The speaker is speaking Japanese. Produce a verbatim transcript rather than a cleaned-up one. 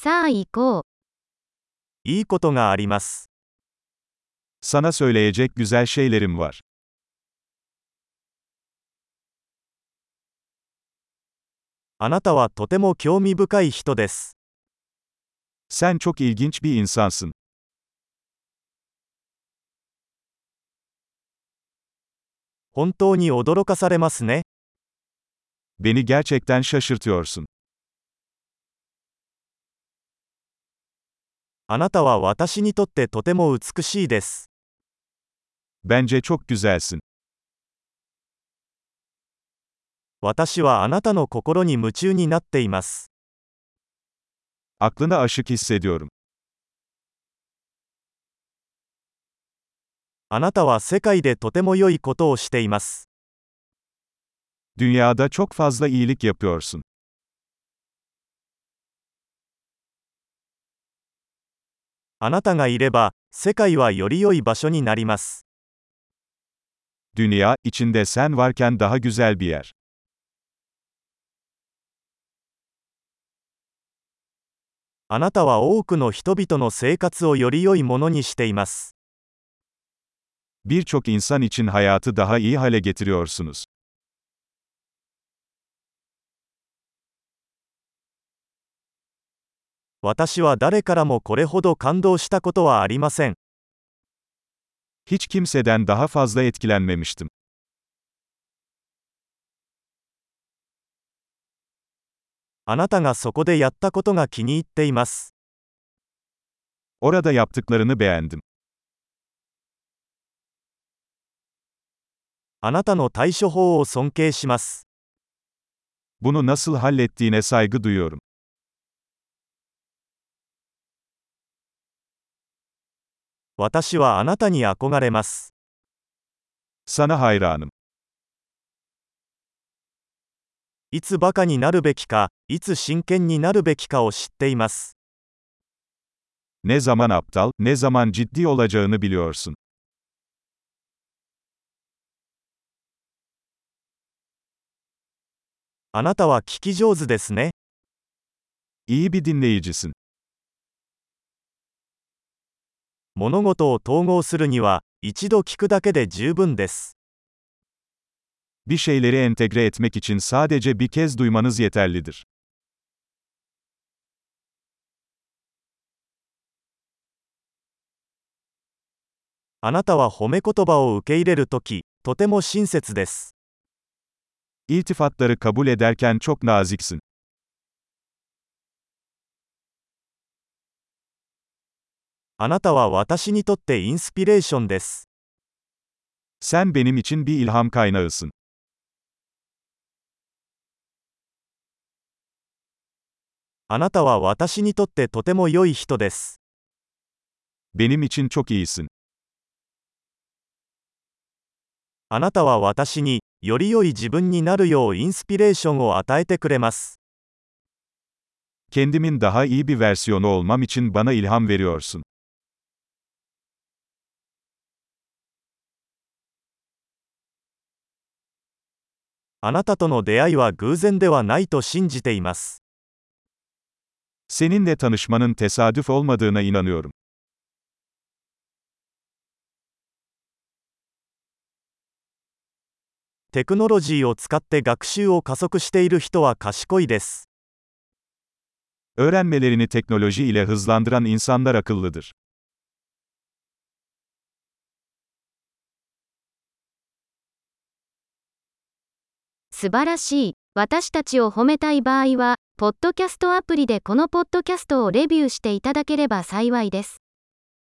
さあ行こう。 いいことがあります。 Sana söyleyecek güzel şeylerim var. あなたはとても興味深い人です。 Sen çok ilginç bir insansın. 本当に驚かされますね。 Beni gerçekten şaşırtıyorsun. あなたは私にとってとても美しいです。 Bence çok güzelsin. 私はあなたの心に夢中になっています。 Aklına aşık hissediyorum. あなたは世界でとても良いことをしています。 Dünyada çok fazla iyilik yapıyorsun. あなたがいれば、世界はより良い場所になります。 Dünya, içinde sen varken daha güzel bir yer. あなたは多くの人々の生活をより良いものにしています。 Birçok insan için hayatı daha iyi hale getiriyorsunuz. 私は誰からもこれほど感動したことはありません。 Hiç kimseden daha fazla etkilenmemiştim. あなたがそこでやったことが気に入っています。 Orada yaptıklarını beğendim. あなたの対処法を尊敬します。 Bunu nasıl hallettiğine saygı duyuyorum. 私はあなたに憧れます。 Sana hayranım. いつバカになるべきか、いつ真剣になるべきかを知っています。 Ne zaman aptal, ne zaman ciddi olacağını biliyorsun. あなたは聞き上手ですね。 İyi bir dinleyicisin. 物事を統合するには、一度聞くだけで十分です。 Bir şeyleri entegre etmek için sadece bir kez duymanız yeterlidir. あなたは褒め言葉を受け入れるとき、とても親切です。 İltifatları kabul ederken çok naziksin. あなたは私にとってインスピレーションです。 Sen benim için bir ilham kaynağısın. あなたは私にとってとても良い人です。 Benim için çok iyisin. あなたは私に、より良い自分になるようインスピレーションを与えてくれます。 Kendimin daha iyi bir versiyonu olmam için bana ilham veriyorsun. あなたとの出会いは偶然ではないと信じています。 Seninle tanışmanın tesadüf olmadığına inanıyorum. テクノロジーを使って学習を加速している人は賢いです。 Öğrenmelerini teknoloji ile hızlandıran insanlar akıllıdır. 素晴らしい。私たちを褒めたい場合は、ポッドキャストアプリでこのポッドキャストをレビューしていただければ幸いです。